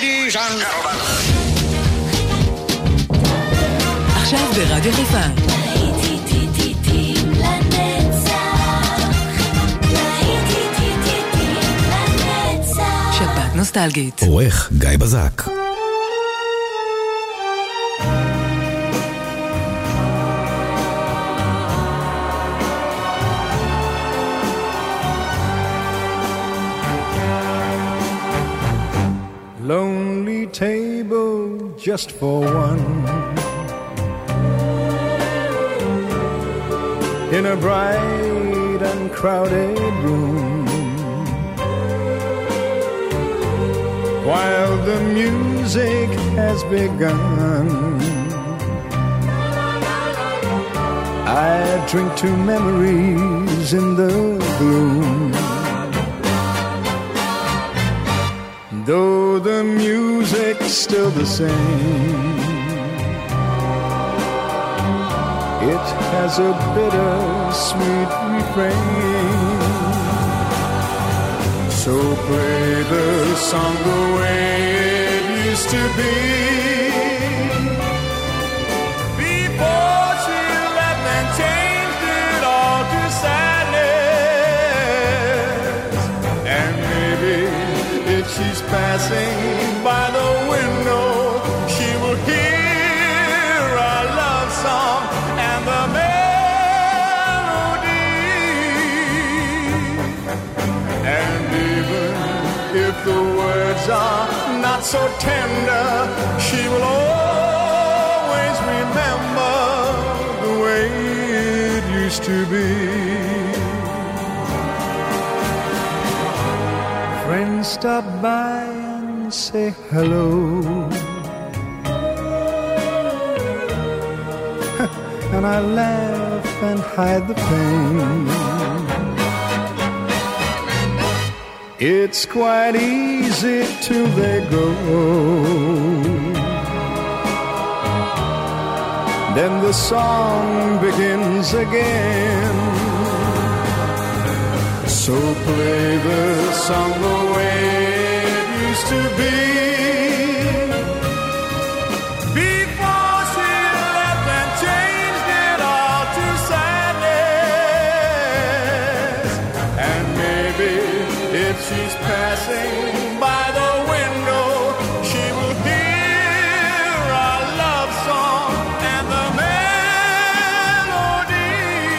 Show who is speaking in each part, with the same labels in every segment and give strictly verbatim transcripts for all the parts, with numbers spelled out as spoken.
Speaker 1: Ladies and gentlemen.
Speaker 2: עכשיו ברדיו חיפה. שבת נוסטלגית.
Speaker 3: עורך גיא בזק.
Speaker 4: Lonely table just for one, in a bright and crowded room, while the music has begun. I drink to memories in the gloom. Though the music's still the same, it has a bitter-sweet refrain. So play the song the way it used to be, before she left and changed it all to sadness. And maybe if she's passing by the window, she will hear our love song and the melody. And even if the words are not so tender, she will always remember the way it used to be. Friends stop by and say hello, and I laugh and hide the pain. It's quite easy till they go, then the song begins again. So play the song the way it used to be, before she left and changed it all to sadness. And maybe if she's passing by the window, she will hear our love song and the melody.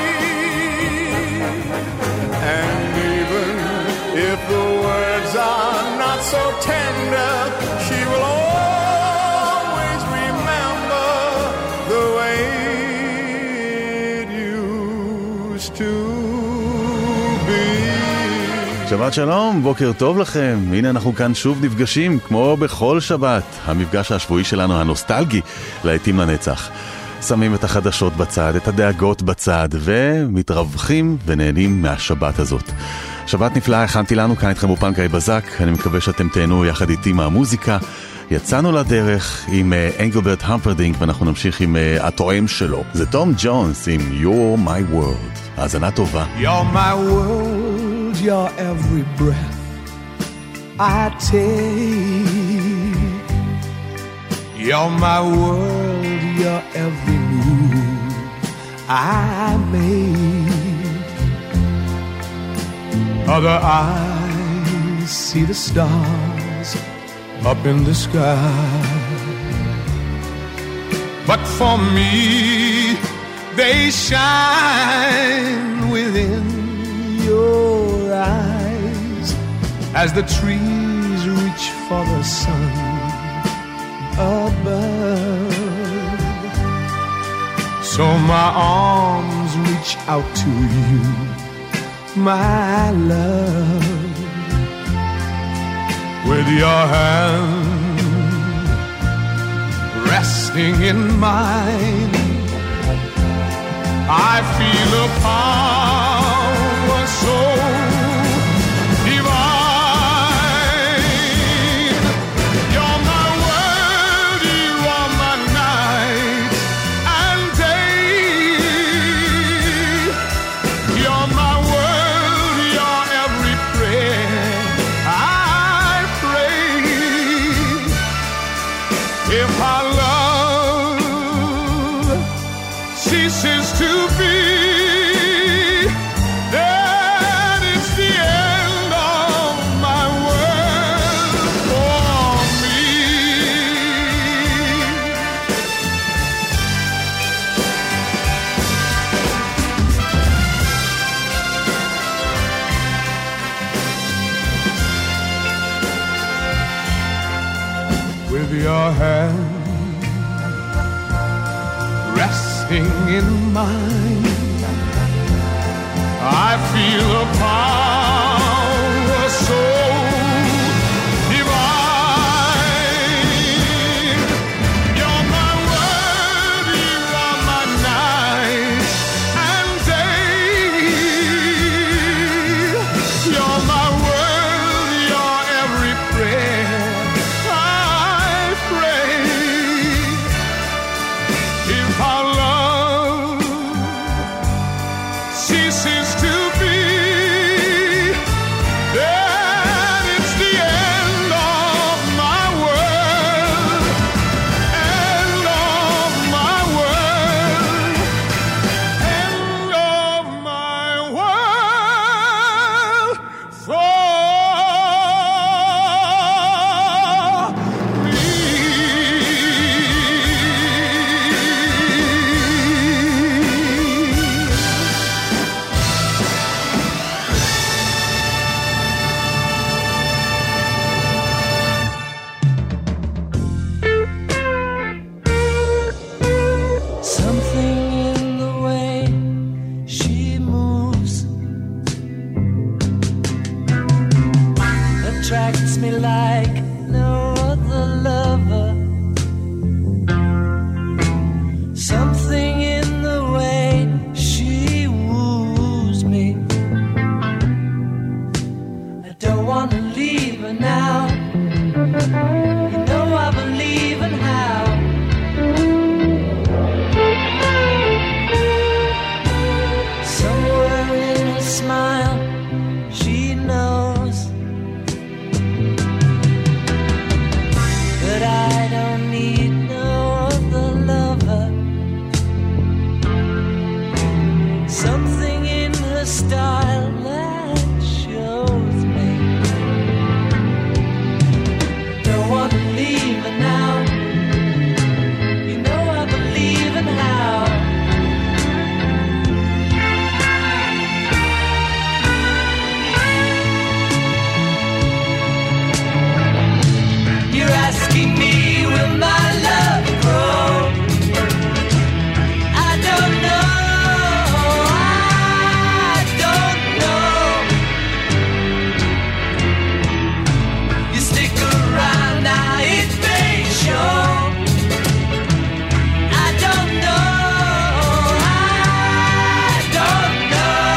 Speaker 4: And if the words are not so tender, she will always remember the way it used to be.
Speaker 5: שבת שלום, בוקר טוב לכם. הנה אנחנו כאן שוב נפגשים, כמו בכל שבת. המפגש השבועי שלנו הנוסטלגי, להיטים לנצח. שמים את החדשות בצד, את הדאגות בצד, ומתרווחים ונהנים מהשבת הזאת. שבת נפלאה, הכנתי לנו כאן איתכם אופן גיא בזק, אני מקווה שאתם תהנו יחד איתי מהמוזיקה. יצאנו לדרך עם אנגלברט המפרדינק, ואנחנו נמשיך עם התואם שלו. זה תום ג'ונס עם You're My World. האזנה טובה.
Speaker 4: You're my world, your every breath I take. You're my world, your every move I make. Other eyes see the stars up in the sky, but for me they shine within your eyes as the trees reach for the sun above. So my arms reach out to you, my love, with your hand resting in mine. I feel a power so divine. You're my world, you are my night and day. You're my world, your every prayer I pray. If our love ceases to be, then it's the end of my world for me. With your hand resting in mine, I feel a power so divine. You're my word, you are my night and day. You're my word, your every prayer I pray. If our love ceases to be, then it's the end of my world, end of my world, end of my world for me.
Speaker 1: Something in the way she moves attracts me like no other lover. Something in the way she woos me. I don't want to leave her now. You know I believe in how. Somewhere in her smile, she knows that I don't need no other lover. Something in her style that shows me I don't want to leave her now. You know I believe in how. You're asking me, will my love grow? I don't know, I don't know. You stick around now, it may show. I don't know, I don't know.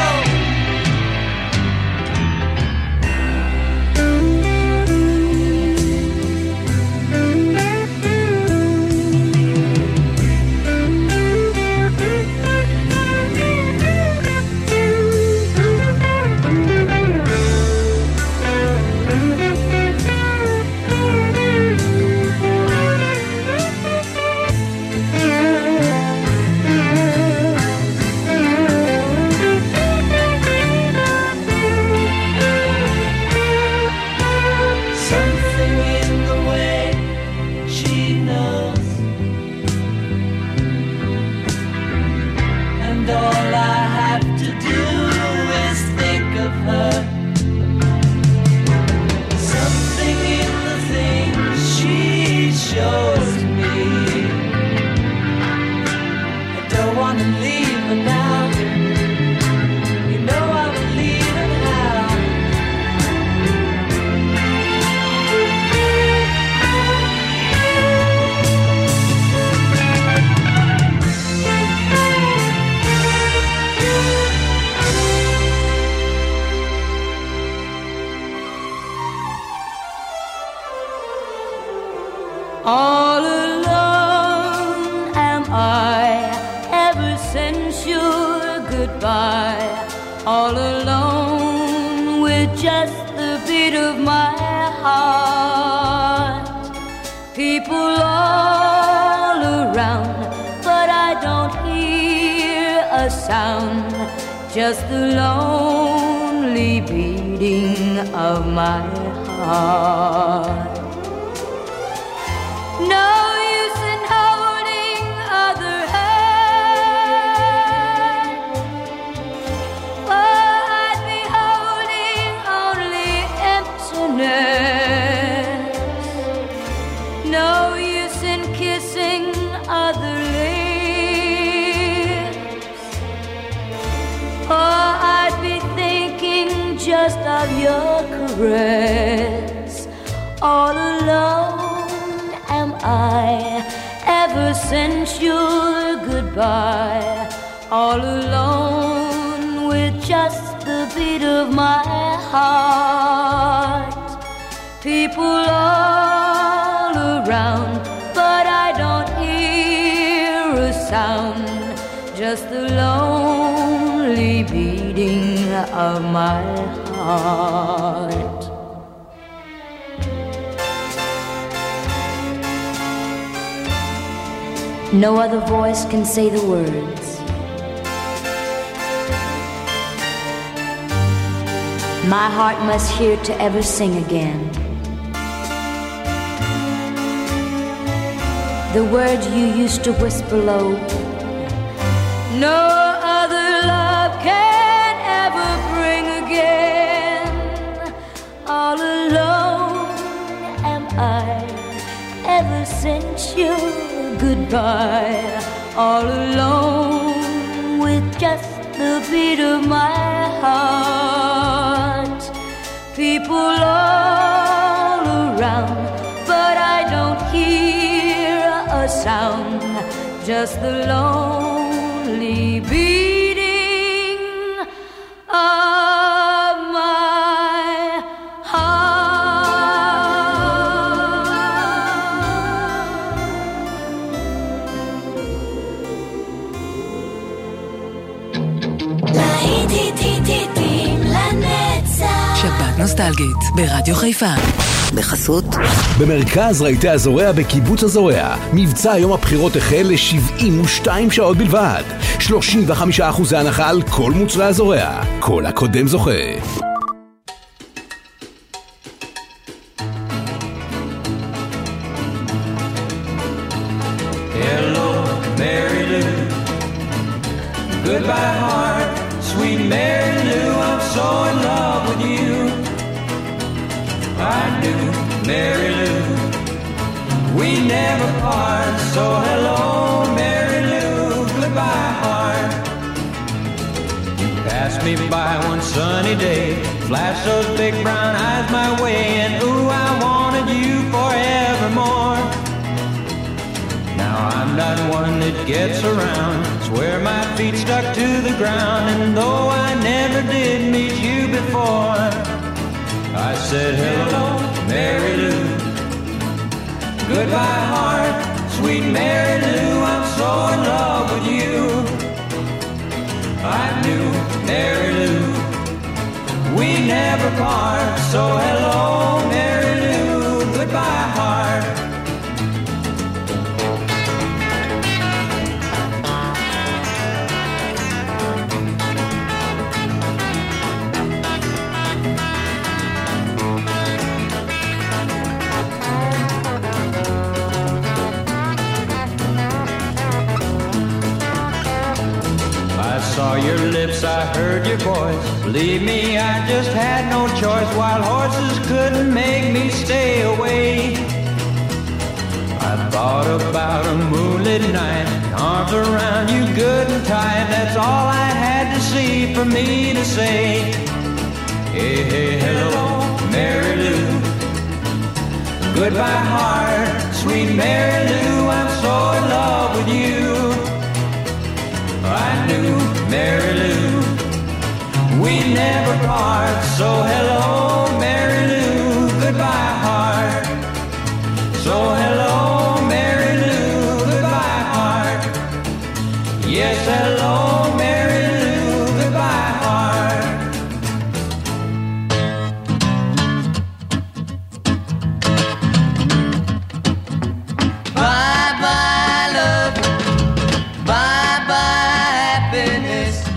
Speaker 1: Something in the way she knows, and all I have to do is think of her. Something in the things she shows me. I don't want to leave her now. You know I believe in how.
Speaker 3: All alone am I ever since your goodbye. All alone with just the beat of my heart. People all sound, just the lonely beating of my heart. No use in holding other hand, for I'd be holding only emptiness. No use in kissing other lips, for I'd be thinking just of your caress. All alone am I ever since your goodbye, all alone with just the beat of my heart. People all around, but I don't hear a sound, just the lonely beating of my heart. No other voice can say the words. My heart must hear to ever sing again. The words you used to whisper low. No other love can ever bring again. All alone am I ever since your goodbye, all alone with just the beat of my heart. People all around, but I don't hear a sound, just the lonely beating of my
Speaker 2: שבת נוסטלגית ברדיו חיפה. בחסות
Speaker 6: במרכז רהיטי הזורע בקיבוץ הזורע, מבצע יום הבחירות החל ל-שבעים ושתיים שעות בלבד, שלושים וחמישה אחוז הנחה על כל מוצרי הזורע, כל הקודם זוכה.
Speaker 7: Hello, Mary Lou. Goodbye, heart, sweet Mary Lou. I'm so in love with you. I do, Mary Lou. We never part. So hello, Mary Lou. Goodbye, heart. You passed me by one sunny day, flashed those big brown eyes my way, and ooh, I wanted you forevermore. Now I'm not one that gets around, swear my feet stuck to the ground, and though I never did meet you before, I said hello, Mary Lou. Goodbye, heart, sweet Mary Lou. I'm so in love with you. I knew, Mary Lou, we never part. So hello, Mary Lou. Goodbye, heart. I saw your lips, I heard your voice. Believe me, I just had no choice. Wild horses couldn't make me stay away. I thought about a moonlit night, arms around you good and tight. That's all I had to see for me to say. Hey, hey, hello, Mary Lou. Goodbye, heart, sweet Mary Lou. I'm so in love with you. I knew, Mary Lou, we never part. So hello, Mary Lou. Goodbye, heart. So hello, Mary Lou. Goodbye, heart. Yes, hello, Mary Lou. Goodbye, heart. Bye bye love, bye bye happiness.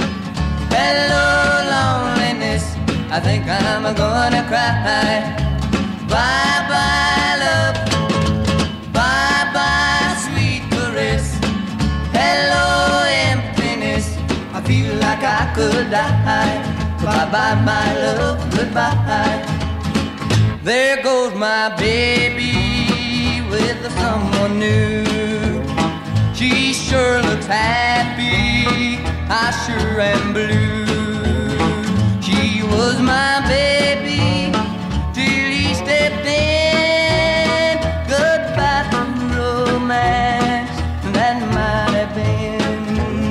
Speaker 1: gonna cry. Bye bye love, bye bye sweet caress. Hello emptiness, I feel like I could die. Bye bye my love, goodbye. There goes my baby with someone new. She sure looks happy, I sure am blue. She was my baby till he stepped in. Goodbye to romance, that might have been.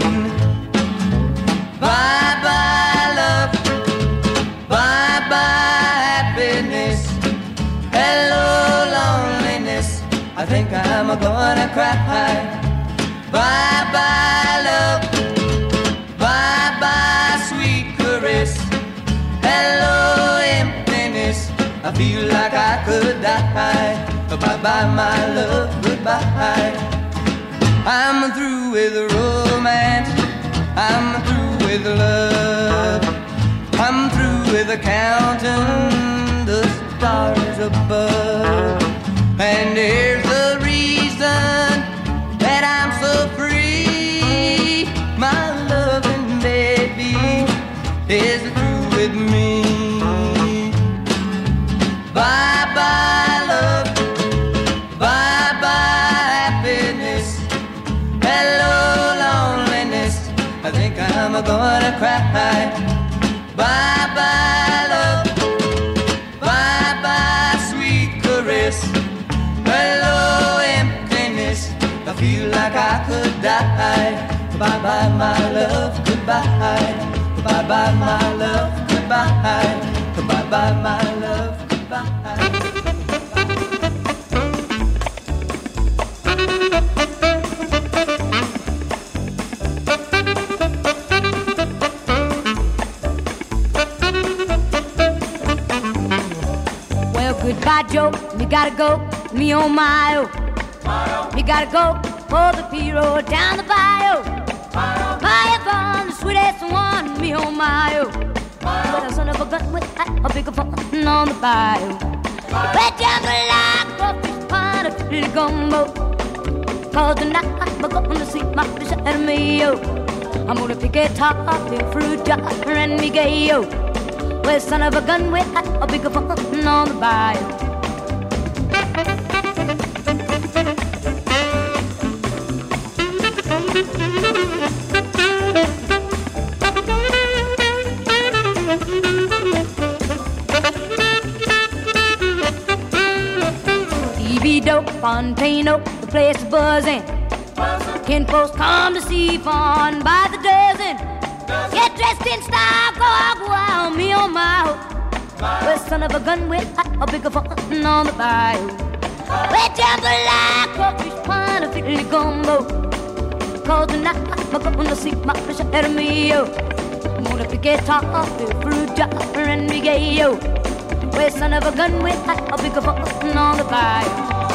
Speaker 1: Bye bye love, bye bye happiness. Hello loneliness, I think I'm gonna cry. Bye bye love, bye bye sweet caress. Hello emptiness, I feel like I could die. Bye bye my love, goodbye. I'm through with romance, I'm through with love. I'm through with counting the stars above. And here's the reason that I'm so free. My loving baby is through with me. Bye bye love, bye bye happiness. Hello loneliness, I think I'm gonna cry. Bye bye love, bye bye sweet caress. Hello emptiness, I feel like I could die. Bye bye my love, goodbye. Bye bye my love, goodbye. Bye bye my love, goodbye.
Speaker 3: Well, goodbye, Joe. Me gotta go. Me on my own. Me gotta go for the P-road down the bayou. Fire from the sweetest one, me on my own. But a son of a gun with a bigger fun on the bayou. Wet down the line, crawfish pond, a fiddly gumbo. Cause tonight I'm gonna see my fish at me, yo. I'm gonna pick a top, a fruit jar, and me gay, yo. Well, son of a gun with a bigger fun on the bayou. Fontano, the place is buzzing. Kin folks come to see fun by the dozen. Get dressed in style, go out, go out, me on my hoe. Well, son of a gun with a bigger fun on the bayou. We jambalaya, crawfish pond, a fiddly gumbo. Cause tonight I'm gonna see my fish at me, yo. I'm gonna pick a top, a fruit jar, and me gay, yo. Well, son of a gun with a bigger fun on the bayou.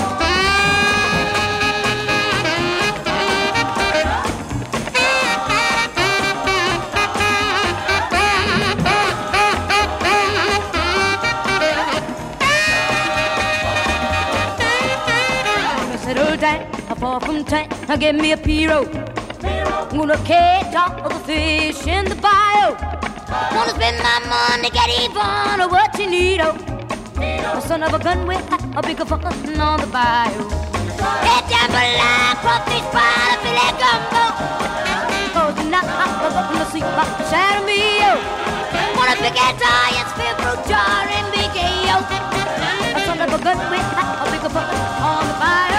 Speaker 3: A four from ten, now give me a P-road. I'm gonna catch all the fish in the bayou. Wanna spend my money, get even or what you need, oh. The son of a gun with a bigger fun on the bayou. Get down below, crawfish pie, a filet gumbo. Cause tonight I'm gonna see my shadow me, oh. Wanna pick a tie and spin fruit jar and big yo. The son of a gun with a bigger fun on the bayou.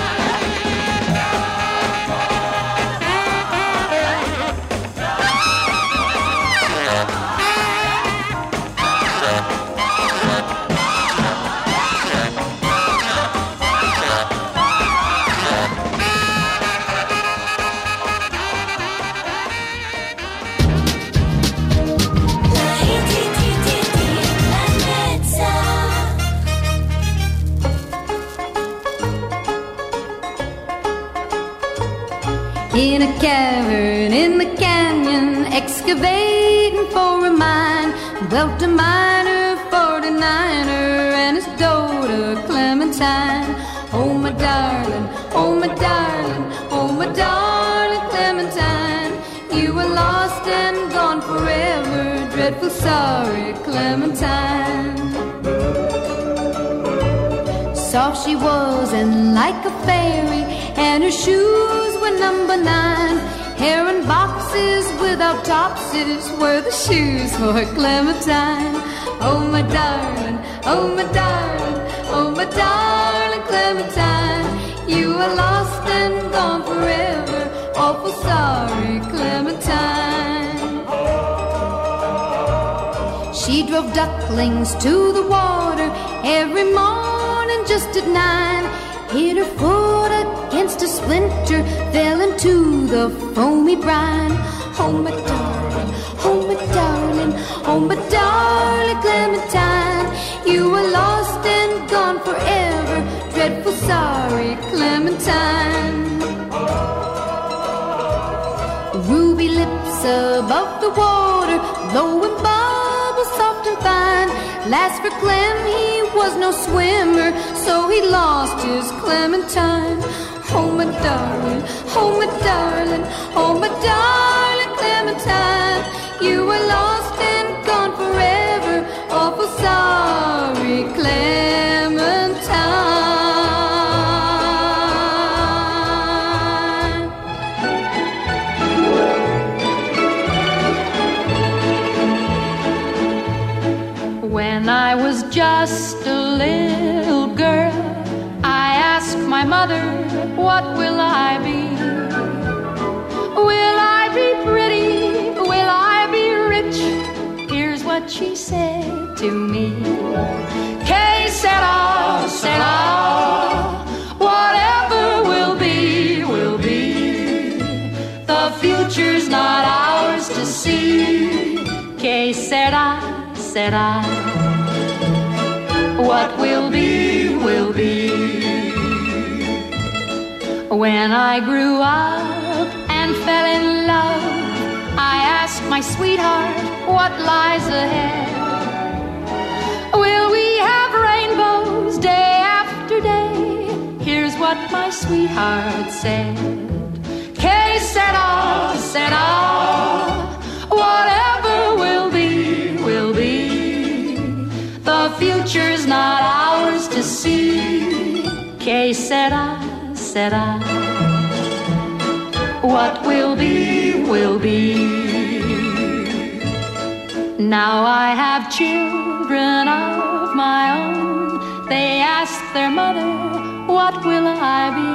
Speaker 8: In a cavern in the canyon, excavating for a mine, dwelt a miner forty Clementine. Oh, my darling, oh, my darling, oh, my darling Clementine. You were lost and gone forever, dreadful sorry Clementine. Soft she was and like a fairy, and her shoes were number nine. Hair in boxes without topses were the shoes for Clementine. Oh, my darling, oh, my darling, oh, my darling Clementine. You are lost and gone forever, awful sorry Clementine. She drove ducklings to the water every morning just at nine. Hit her foot against a splinter, fell into the foamy brine. Oh, my darling, oh, my darling, oh, my darling Clementine. You were lost and gone forever, dreadful sorry Clementine. Ruby lips above the water, blowing bubbles soft and fine. Last for Clem, he was no swimmer, so he lost his Clementine. Oh, my darling, oh, my darling, oh, my darling Clementine. You were lost and gone forever, awful sorry Clementine.
Speaker 9: When I was just a little girl, I asked my mother, what will I be? Will I be pretty? Will I be rich? Here's what she said to me. Que sera, sera. Whatever will be, will be. The future's not ours to see. Que sera, sera. What will be, will be. When I grew up and fell in love, I asked my sweetheart, what lies ahead? Will we have rainbows day after day? Here's what my sweetheart said. Que sera, sera. Whatever will be, will be. The future's not ours to see. Que sera, sera. What will be, will be. Now I have children of my own. They ask their mother, what will I be?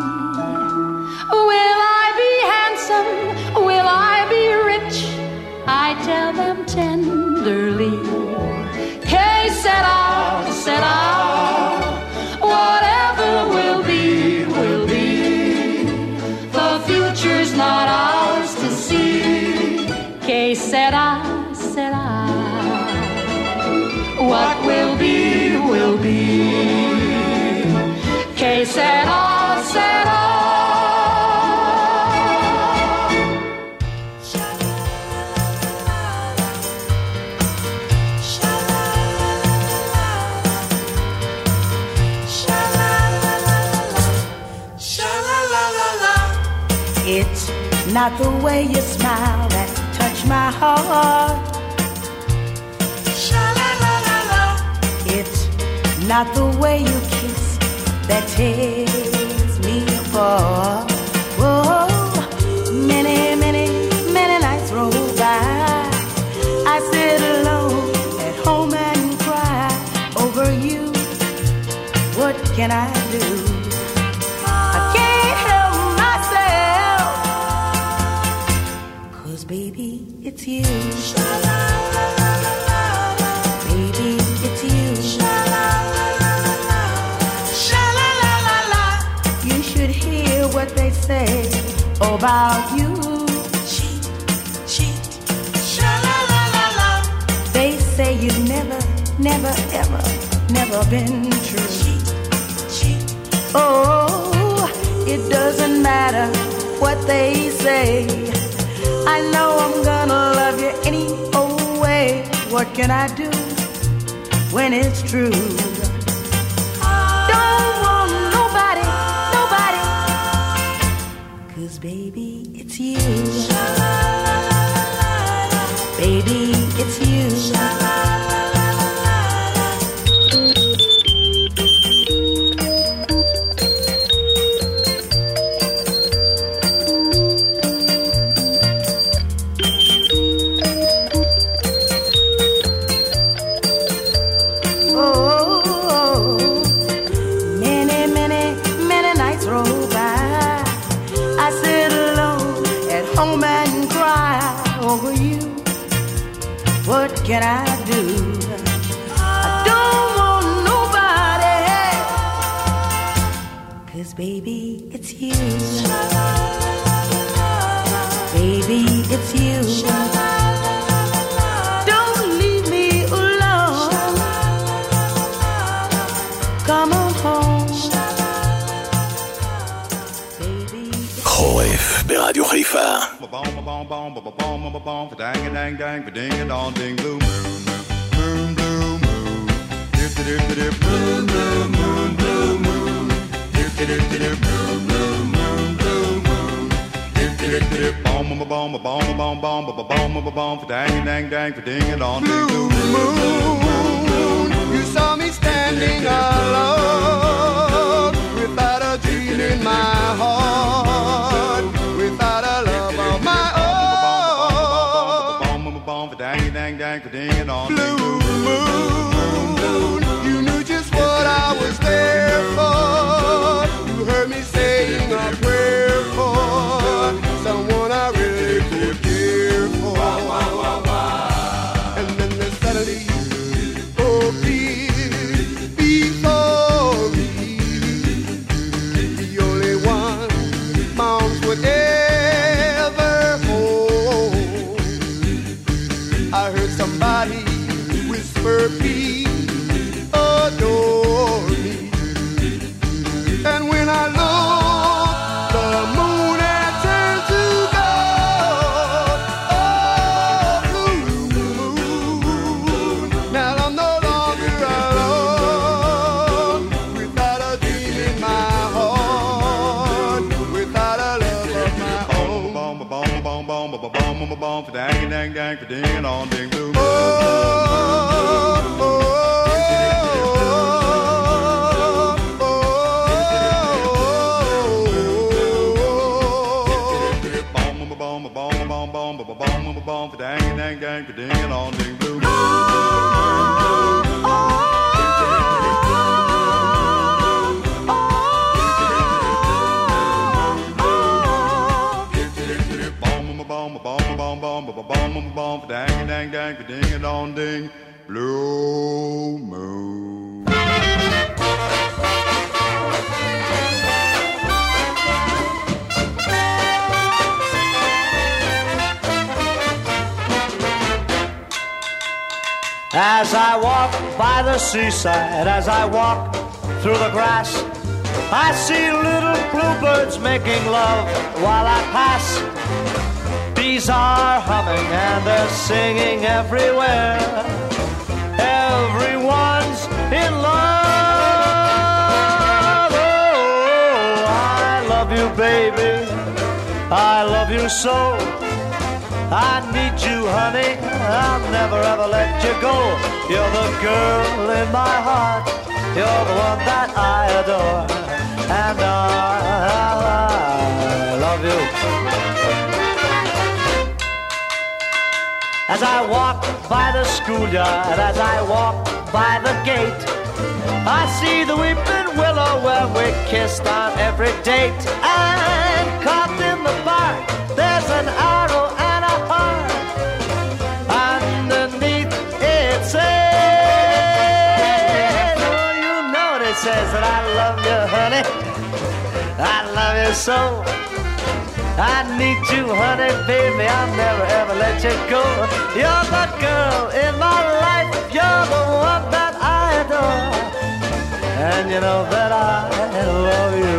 Speaker 9: Will I be handsome? Will I be rich? I tell them tenderly. Que sera, sera. Whatever will be, will be. The future's not ours to see. Que sera, sera. What will be, will be. Que sera, sera.
Speaker 10: It's not the way you smile that touch my heart. Sha-la-la-la-la. It's not the way you kiss that tears me apart. Whoa, many, many, many nights roll by. I sit alone at home and cry over you. What can I do? Baby, it's you. Baby, it's you. You should hear what they say about you. Cheat, cheat, sha-la-la-la-la. They say you've never, never, ever, never been true. Cheat, cheat. Oh, it doesn't matter what they say. I know I'm gonna love you any old way. What can I do when it's true? Don't baby, it's you. Baby, it's you. What can I do? I don't want nobody, 'cause baby, it's you. Baby, it's you. Don't leave me alone. Come on home.
Speaker 6: חורף ברדיו חיפה.
Speaker 4: Dang a dang dang, ba ding a dong ding, blue moon, moon, blue moon, dip dip dip, blue moon, moon, blue moon, dip dip dip, blue moon, moon, blue moon, dip dip dip, bomb bomb bomb bomb bomb bomb bomb bomb bomb, dang a dang dang, ba ding a dong ding, blue moon. You saw me standing alone, without a dream in my heart, without a love of my own. Blue moon, you knew just what I was there for. You heard me saying a prayer for someone I really did care for. And then there's suddenly, oh please, before me, the only one my arms would ever hold. I heard somebody whisper, please adore me. And when I look, the moon had turned to gold. Oh, blue moon. Now I'm no longer alone, without a dream in my heart, without a love of my own. Bomb, bomb, bomb, bomb, bomb, bomb, bomb, bomb, dang, dang, dang, ding, on, ding, blue moon. Blue moon.
Speaker 11: As I walk by the seaside, as I walk through the grass, I see little bluebirds making love while I pass. Bees are humming and they're singing everywhere. Everyone's in love. Oh, I love you, baby. I love you so. I need you, honey. I'll never ever let you go. You're the girl in my heart. You're the one that I adore. And I, I love you. As I walk by the schoolyard, as I walk by the gate, I see the weeping willow where we kissed on every date. And carved in the bark, there's an arrow and a heart. Underneath it says, oh, you know what it says, that I love you, honey. I love you so. I need you, honey, baby, I'll never ever let you go. You're the girl in my life, you're the one that I adore. And you know that I love you.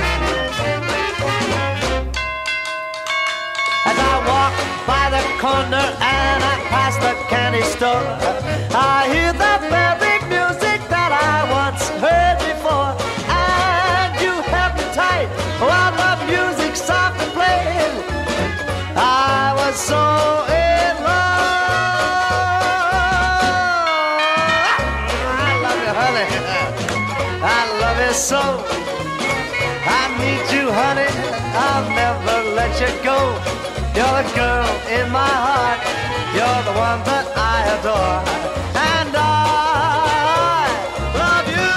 Speaker 11: As I walk by the corner and I pass the candy store, I hear the very music that I once heard before. And you held me tight while the music softly played. you go. You're the girl in my heart. You're the one that I adore. And I love you.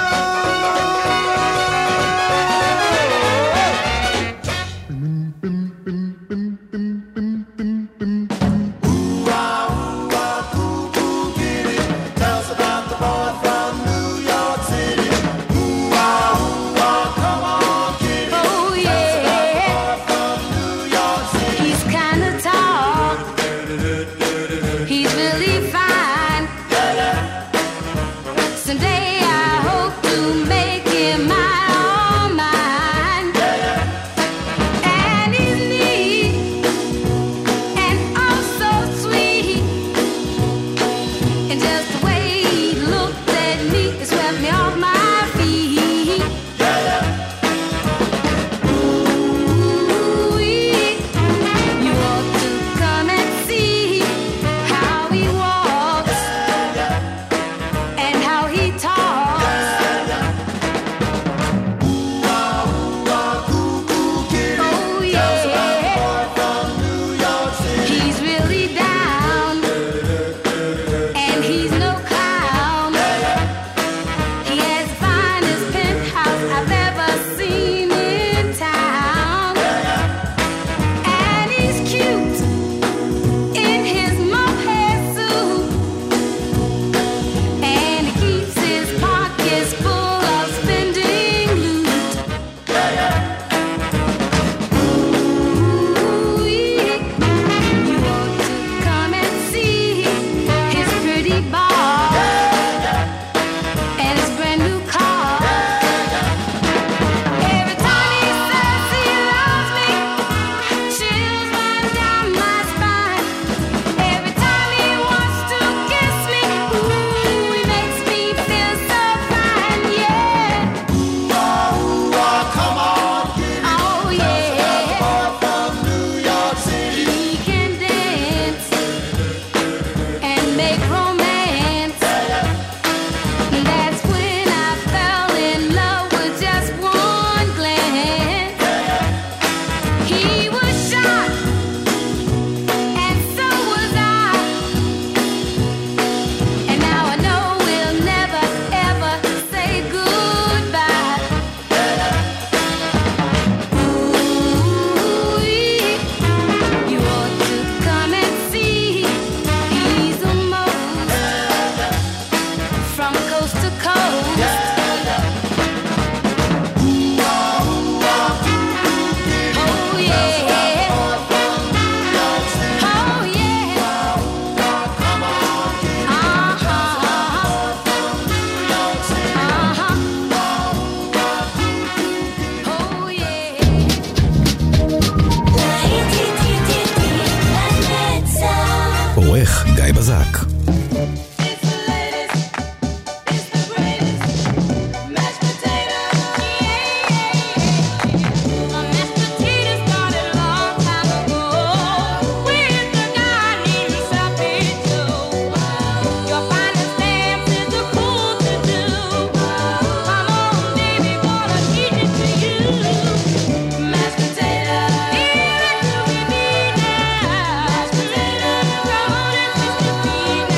Speaker 6: גיא בזק.
Speaker 8: Potato,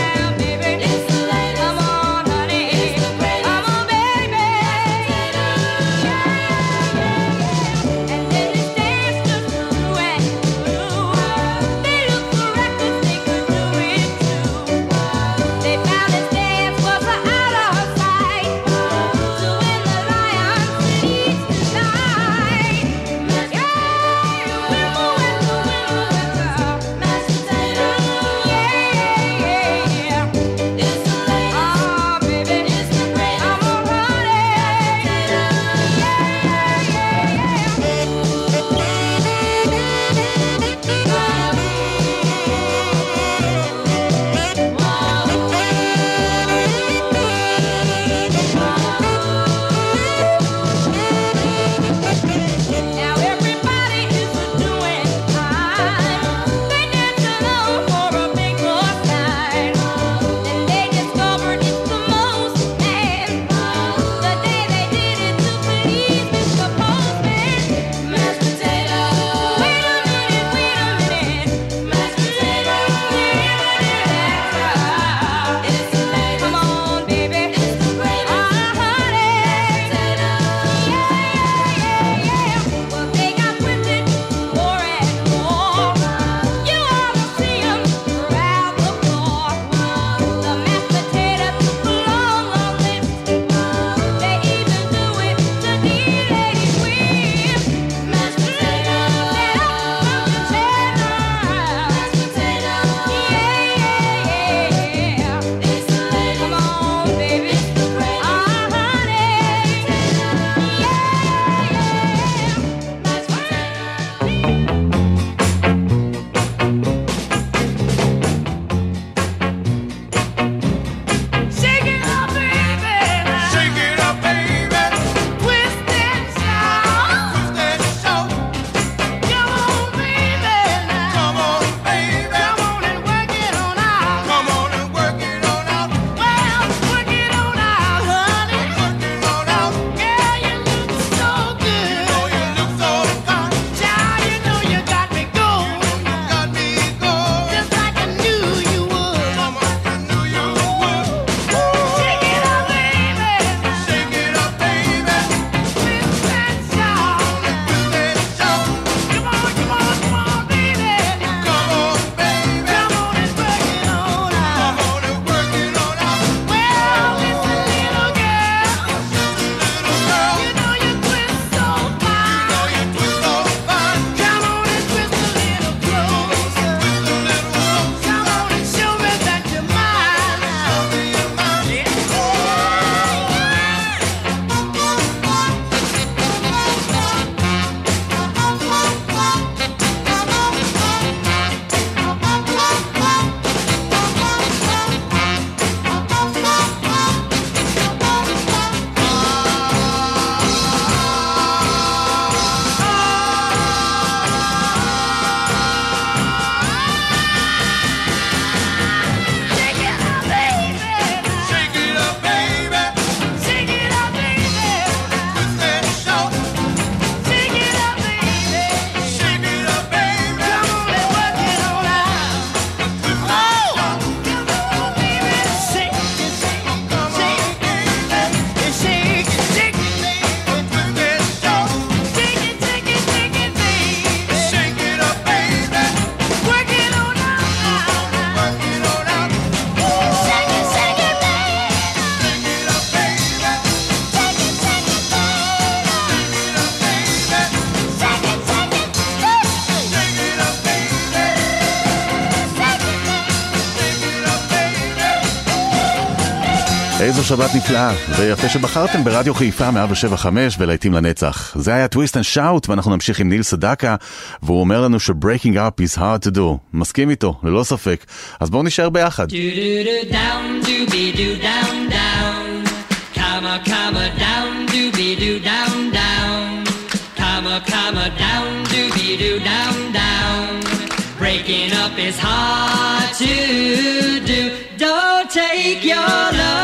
Speaker 5: איזו שבת נפלאה, ויפה שבחרתם ברדיו חיפה מאה שבע חמש ולהיטים לנצח. זה היה טוויסט אנד שאוט, ואנחנו נמשיך עם ניל סדקה, והוא אומר לנו ש-breaking up is hard to do. מסכים איתו, ללא ספק. אז בואו נשאר ביחד.
Speaker 1: down, doobie-doo, down, down. Comma, comma, down, doobie-doo, down, down. Comma, comma, down, doobie-doo, down, down. Breaking up is hard to do. Don't take your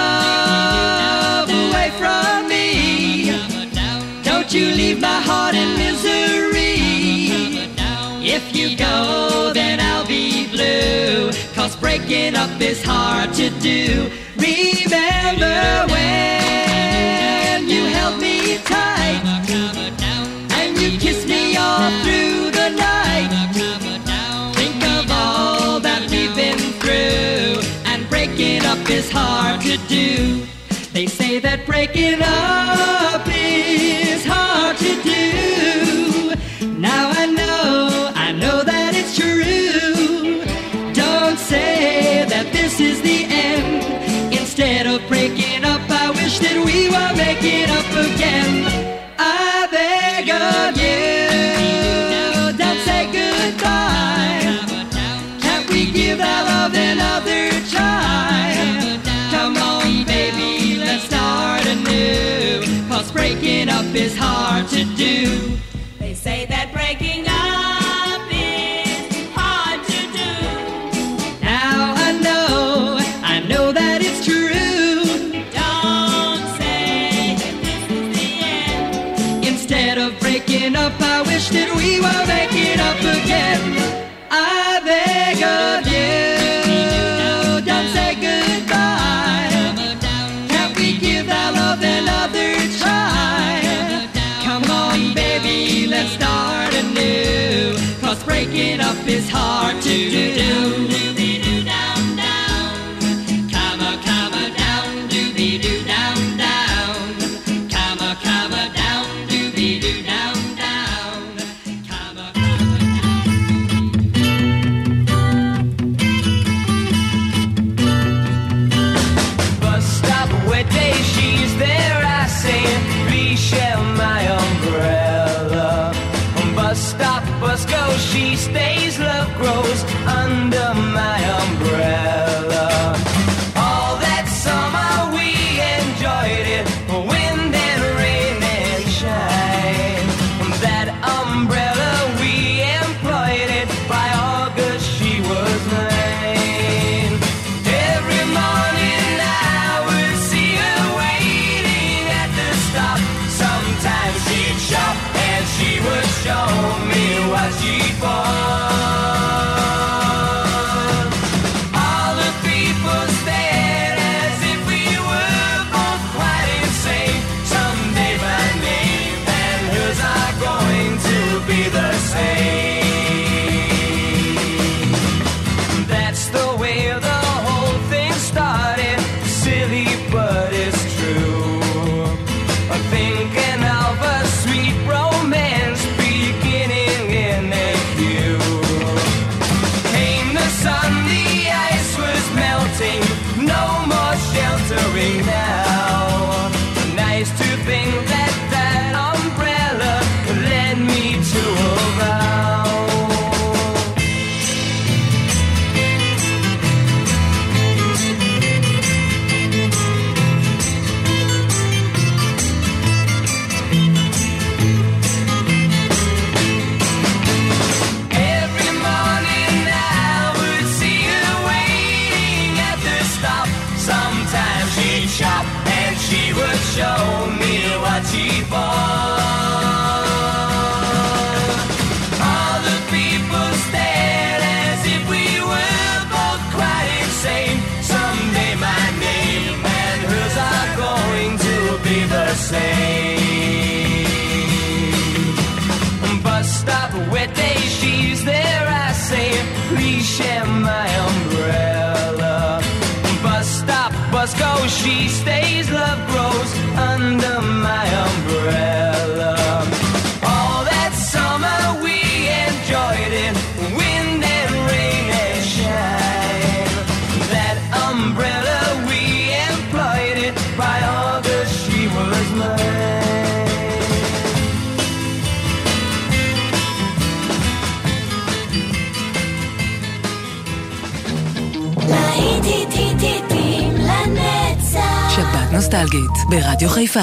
Speaker 1: love away from me. Don't you leave my heart in misery. If you go, then I'll be blue. 'Cause breaking up is hard to do. Remember when you held me tight and you kissed me all through the night. Think of all that we've been through, and breaking up is hard to do. They say that breaking up is hard to do. Now I know, I know that it's true. Don't say that this is the end. Instead of breaking up, I wish that we were making up again. I beg of you, don't say goodbye. Can't we give our love another try? Come on, baby, let's start anew. 'Cause breaking up is hard to do. They say that breaking up is hard to do. Now I know, I know that it's true. Don't say that this is the end. Instead of breaking up, I wish that we were making up again. I beg of you, don't say goodbye. Can't we give our love another try? Come on, baby, let's start anew. 'Cause breaking up is hard to do. Doobie-doo, down, down. Comma, comma, down, doobie-doo, down, down. Comma, comma, down, doobie-doo, down, down. Comma, bus stop, wet day, she's there, I say, please share my umbrella. Bus stop, bus go, she stays, love grows under my umbrella. All that summer we enjoyed it, wind and rain and shine. That umbrella we employed it, by August she was mine. Every morning I would see her waiting at the stop. Sometimes she'd shop and she would show me what she bought. All the people stared as if we were both quite insane. Someday my name and hers are going to be the same. That's the way the whole thing started. Silly, but it's true. I'm thinking of a sweet romance beginning in a queue. Came the sun, the ice was melting, no more sheltering now. Nice to think that that umbrella led me to a vow. Every morning I would see her waiting at the stop. Sometimes she'd shop and she would show me what she bought. All the people stared as if we were both quite insane. Someday my name and hers are going to be the same. Bus stop, wet day, she's there, I say, please share my umbrella. Bus stop, bus go, she stays, love grows under my umbrella. All that summer we enjoyed it, wind and rain and shine. That umbrella we employed it,
Speaker 2: נוסטלגית ברדיו חיפה.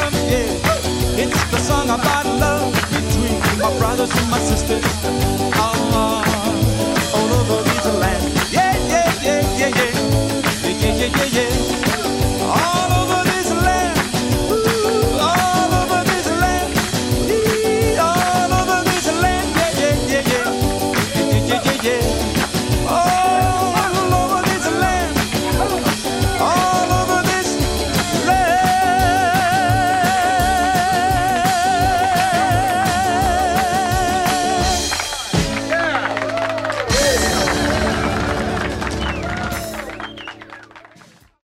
Speaker 12: About love between my brothers and my sisters. Oh,